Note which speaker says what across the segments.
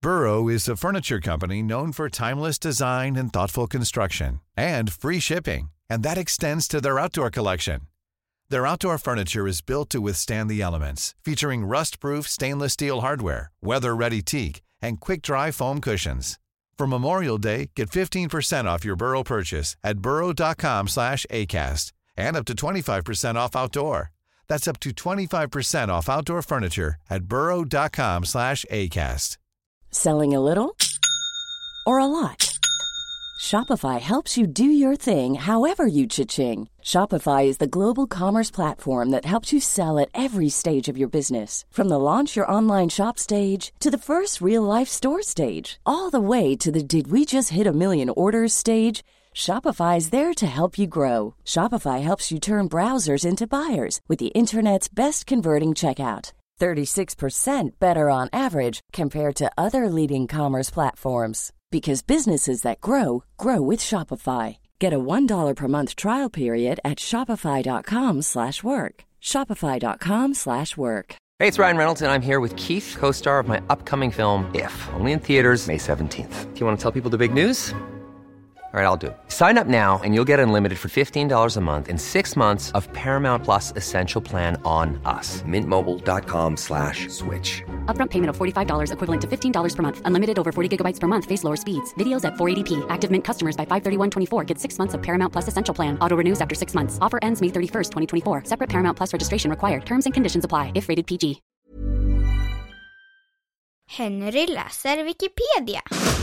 Speaker 1: Burrow is a furniture company known for timeless design and thoughtful construction, and free shipping, and that extends to their outdoor collection. Their outdoor furniture is built to withstand the elements, featuring rust-proof stainless steel hardware, weather-ready teak, and quick-dry foam cushions. For Memorial Day, get 15% off your Burrow purchase at burrow.com/acast, and up to 25% off outdoor. That's up to 25% off outdoor furniture at burrow.com/acast.
Speaker 2: Selling a little or a lot? Shopify helps you do your thing however you cha-ching. Shopify is the global commerce platform that helps you sell at every stage of your business. From the launch your online shop stage to the first real-life store stage, all the way to the did we just hit a million orders stage. Shopify is there to help you grow. Shopify helps you turn browsers into buyers with the internet's best converting checkout. 36% better on average compared to other leading commerce platforms. Because businesses that grow, grow with Shopify. Get a $1 per month trial period at shopify.com/work. Shopify.com/work.
Speaker 3: Hey, it's Ryan Reynolds, and I'm here with Keith, co-star of my upcoming film, If, only in theaters May 17th. Do you want to tell people the big news? All right, I'll do it. Sign up now and you'll get unlimited for $15 a month and 6 months of Paramount Plus Essential Plan on us. MintMobile.com/switch.
Speaker 4: Upfront payment of $45 equivalent to $15 per month. Unlimited over 40 gigabytes per month. Face lower speeds. Videos at 480p. Active Mint customers by 531.24 get 6 months of Paramount Plus Essential Plan. Auto renews after 6 months. Offer ends May 31st, 2024. Separate Paramount Plus registration required. Terms and conditions apply if rated PG.
Speaker 5: Henry läser Wikipedia.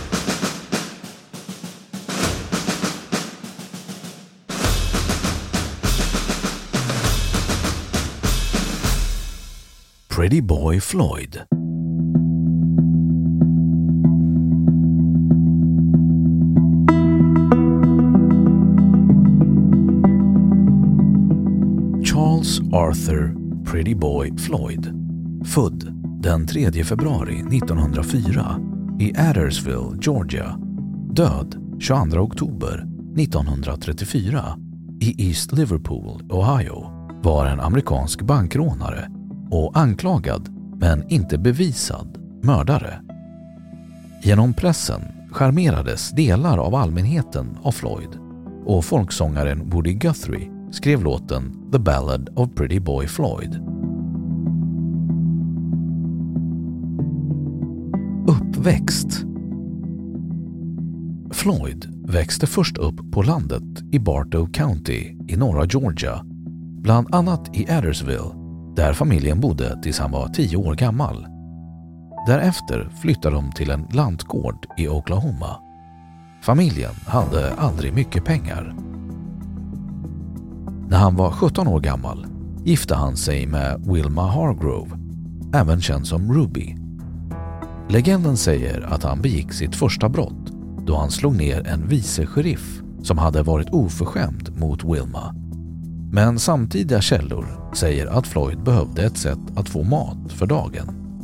Speaker 6: Pretty Boy Floyd. Charles Arthur Pretty Boy Floyd, född den 3 februari 1904 i Adairsville, Georgia, död 22 oktober 1934 i East Liverpool, Ohio, var en amerikansk bankrånare och anklagad, men inte bevisad, mördare. Genom pressen charmerades delar av allmänheten av Floyd, och folksångaren Woody Guthrie skrev låten The Ballad of Pretty Boy Floyd. Uppväxt. Floyd växte först upp på landet i Bartow County i norra Georgia, bland annat i Adairsville, där familjen bodde tills han var 10 år gammal. Därefter flyttade de till en lantgård i Oklahoma. Familjen hade aldrig mycket pengar. När han var 17 år gammal gifte han sig med Wilma Hargrove, även känd som Ruby. Legenden säger att han begick sitt första brott då han slog ner en vice sheriff som hade varit oförskämd mot Wilma. Men samtidiga källor säger att Floyd behövde ett sätt att få mat för dagen.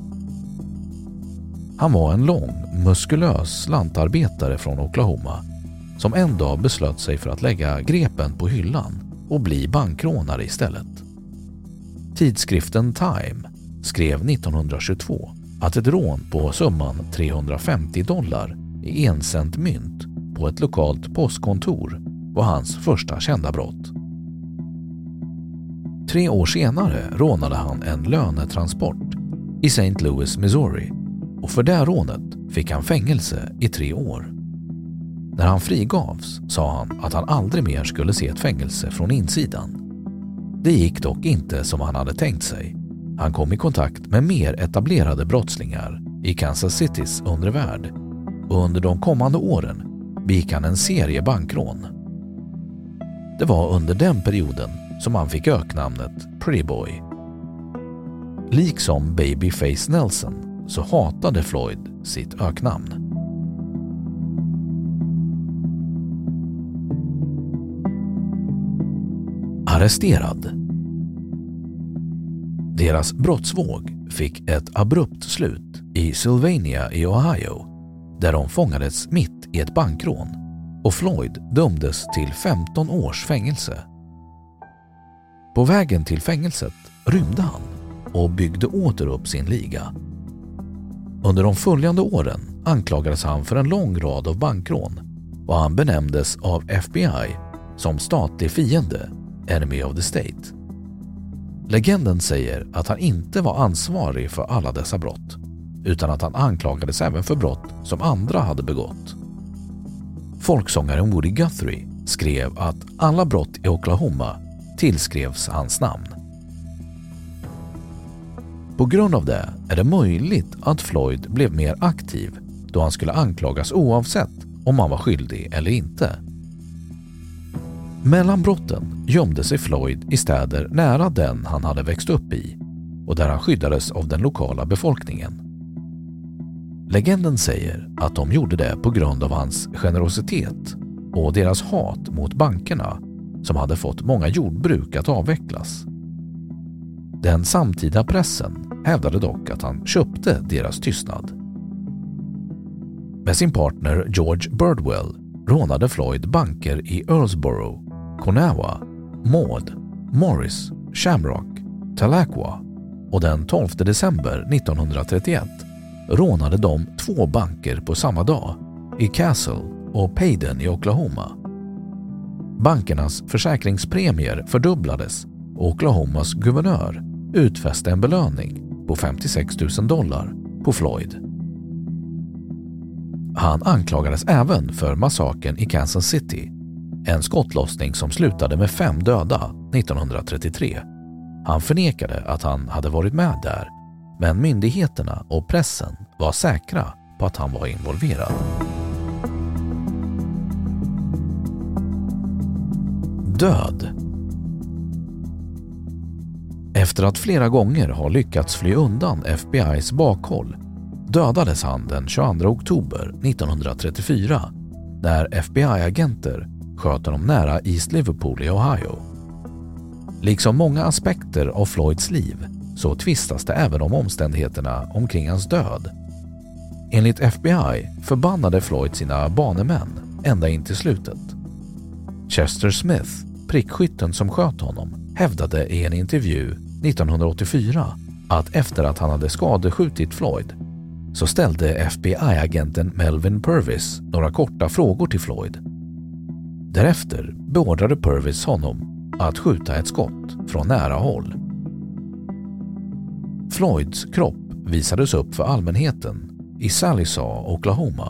Speaker 6: Han var en lång, muskulös lantarbetare från Oklahoma som en dag beslöt sig för att lägga grepen på hyllan och bli bankrånare istället. Tidskriften Time skrev 1922 att ett rån på summan $350 i 1 cent mynt på ett lokalt postkontor var hans första kända brott. 3 år senare rånade han en lönetransport i St. Louis, Missouri, och för det rånet fick han fängelse i 3 år. När han frigavs sa han att han aldrig mer skulle se ett fängelse från insidan. Det gick dock inte som han hade tänkt sig. Han kom i kontakt med mer etablerade brottslingar i Kansas Citys undre värld, och under de kommande åren begick han en serie bankrån. Det var under den perioden som han fick öknamnet Pretty Boy. Liksom Babyface Nelson så hatade Floyd sitt öknamn. Arresterad. Deras brottsvåg fick ett abrupt slut i Sylvania i Ohio, där de fångades mitt i ett bankrån, och Floyd dömdes till 15 års fängelse. På vägen till fängelset rymde han och byggde åter upp sin liga. Under de följande åren anklagades han för en lång rad av bankrån och han benämndes av FBI som statlig fiende, enemy of the state. Legenden säger att han inte var ansvarig för alla dessa brott, utan att han anklagades även för brott som andra hade begått. Folksångaren Woody Guthrie skrev att alla brott i Oklahoma tillskrevs hans namn. På grund av det är det möjligt att Floyd blev mer aktiv då han skulle anklagas oavsett om han var skyldig eller inte. Mellan brotten gömde sig Floyd i städer nära den han hade växt upp i och där han skyddades av den lokala befolkningen. Legenden säger att de gjorde det på grund av hans generositet och deras hat mot bankerna som hade fått många jordbruk att avvecklas. Den samtida pressen hävdade dock att han köpte deras tystnad. Med sin partner George Birdwell rånade Floyd banker i Earlsboro, Conawa, Maud, Morris, Shamrock, Tahlequah och den 12 december 1931 rånade de 2 banker på samma dag i Castle och Paden i Oklahoma. Bankernas försäkringspremier fördubblades och Oklahomas guvernör utfäste en belöning på $56,000 på Floyd. Han anklagades även för massakern i Kansas City, en skottlossning som slutade med 5 döda 1933. Han förnekade att han hade varit med där, men myndigheterna och pressen var säkra på att han var involverad. Död. Efter att flera gånger ha lyckats fly undan FBI:s bakhåll dödades han den 22 oktober 1934 när FBI-agenter sköt honom nära East Liverpool i Ohio. Liksom många aspekter av Floyds liv så tvistas det även om omständigheterna omkring hans död. Enligt FBI förbannade Floyd sina banemän ända in till slutet. Chester Smith, prickskytten som sköt honom, hävdade i en intervju 1984 att efter att han hade skadeskjutit Floyd så ställde FBI-agenten Melvin Purvis några korta frågor till Floyd. Därefter beordrade Purvis honom att skjuta ett skott från nära håll. Floyds kropp visades upp för allmänheten i Sallisaw, Oklahoma.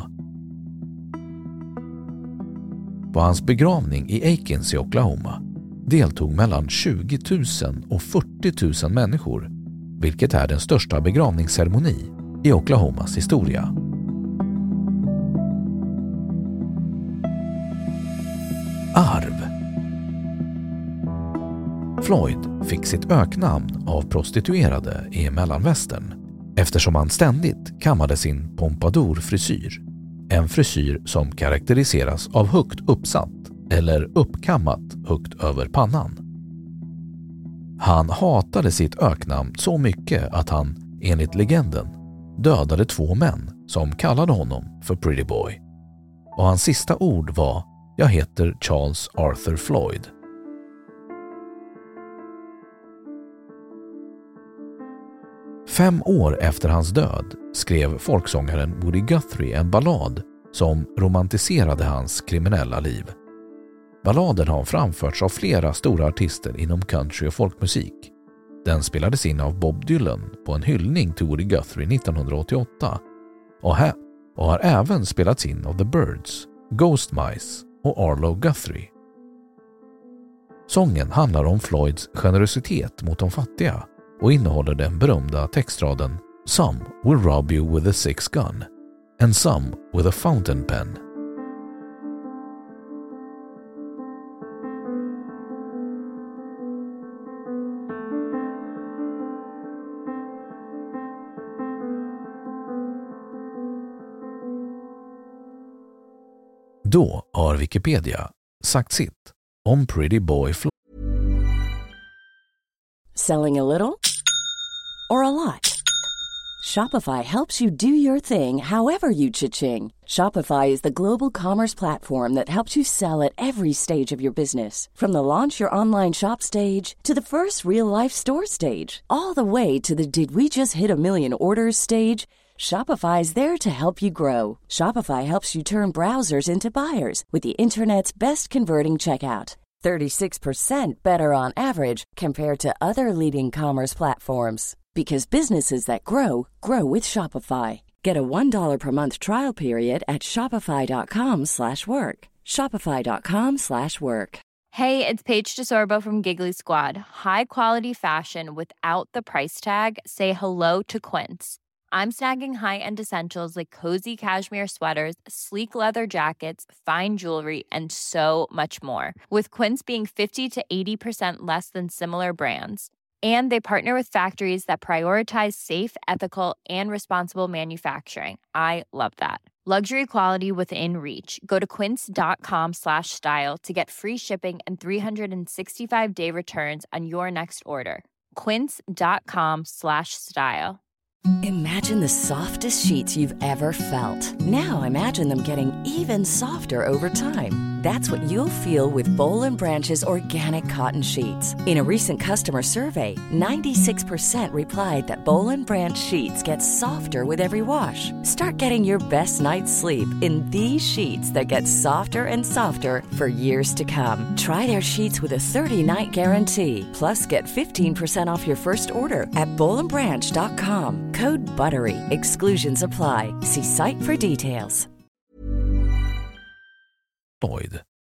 Speaker 6: På hans begravning i Aikens i Oklahoma deltog mellan 20 000 och 40 000 människor, vilket är den största begravningsceremoni i Oklahomas historia. Arv. Floyd fick sitt öknamn av prostituerade i Mellanvästern eftersom han ständigt kammade sin pompadour-frisyr, en frisyr som karaktäriseras av högt uppsatt eller uppkammat högt över pannan. Han hatade sitt öknamn så mycket att han, enligt legenden, dödade 2 män som kallade honom för Pretty Boy. Och hans sista ord var: "Jag heter Charles Arthur Floyd." Fem år efter hans död skrev folksångaren Woody Guthrie en ballad som romantiserade hans kriminella liv. Balladen har framförts av flera stora artister inom country och folkmusik. Den spelades in av Bob Dylan på en hyllning till Woody Guthrie 1988 och har även spelats in av The Byrds, Ghost Mice och Arlo Guthrie. Sången handlar om Floyds generositet mot de fattiga och innehåller den berömda textraden "Some will rob you with a 6 gun and some with a fountain pen." Då har Wikipedia sagt sitt om Pretty Boy Floyd.
Speaker 2: Selling a little or a lot? Shopify helps you do your thing however you cha-ching. Shopify is the global commerce platform that helps you sell at every stage of your business. From the launch your online shop stage to the first real life store stage, all the way to the did we just hit a million orders stage. Shopify is there to help you grow. Shopify helps you turn browsers into buyers with the internet's best converting checkout. 36% better on average compared to other leading commerce platforms. Because businesses that grow, grow with Shopify. Get a $1 per month trial period at shopify.com/work. Shopify.com/work.
Speaker 7: Hey, it's Paige DeSorbo from Giggly Squad. High quality fashion without the price tag. Say hello to Quince. I'm snagging high-end essentials like cozy cashmere sweaters, sleek leather jackets, fine jewelry, and so much more. With Quince being 50 to 80% less than similar brands. And they partner with factories that prioritize safe, ethical, and responsible manufacturing. I love that. Luxury quality within reach. Go to quince.com/style to get free shipping and 365-day returns on your next order. Quince.com/style.
Speaker 2: Imagine the softest sheets you've ever felt. Now imagine them getting even softer over time. That's what you'll feel with Boll & Branch's organic cotton sheets. In a recent customer survey, 96% replied that Boll & Branch sheets get softer with every wash. Start getting your best night's sleep in these sheets that get softer and softer for years to come. Try their sheets with a 30-night guarantee. Plus, get 15% off your first order at bollandbranch.com. Code BUTTERY. Exclusions apply. See site for details.
Speaker 6: Lloyd.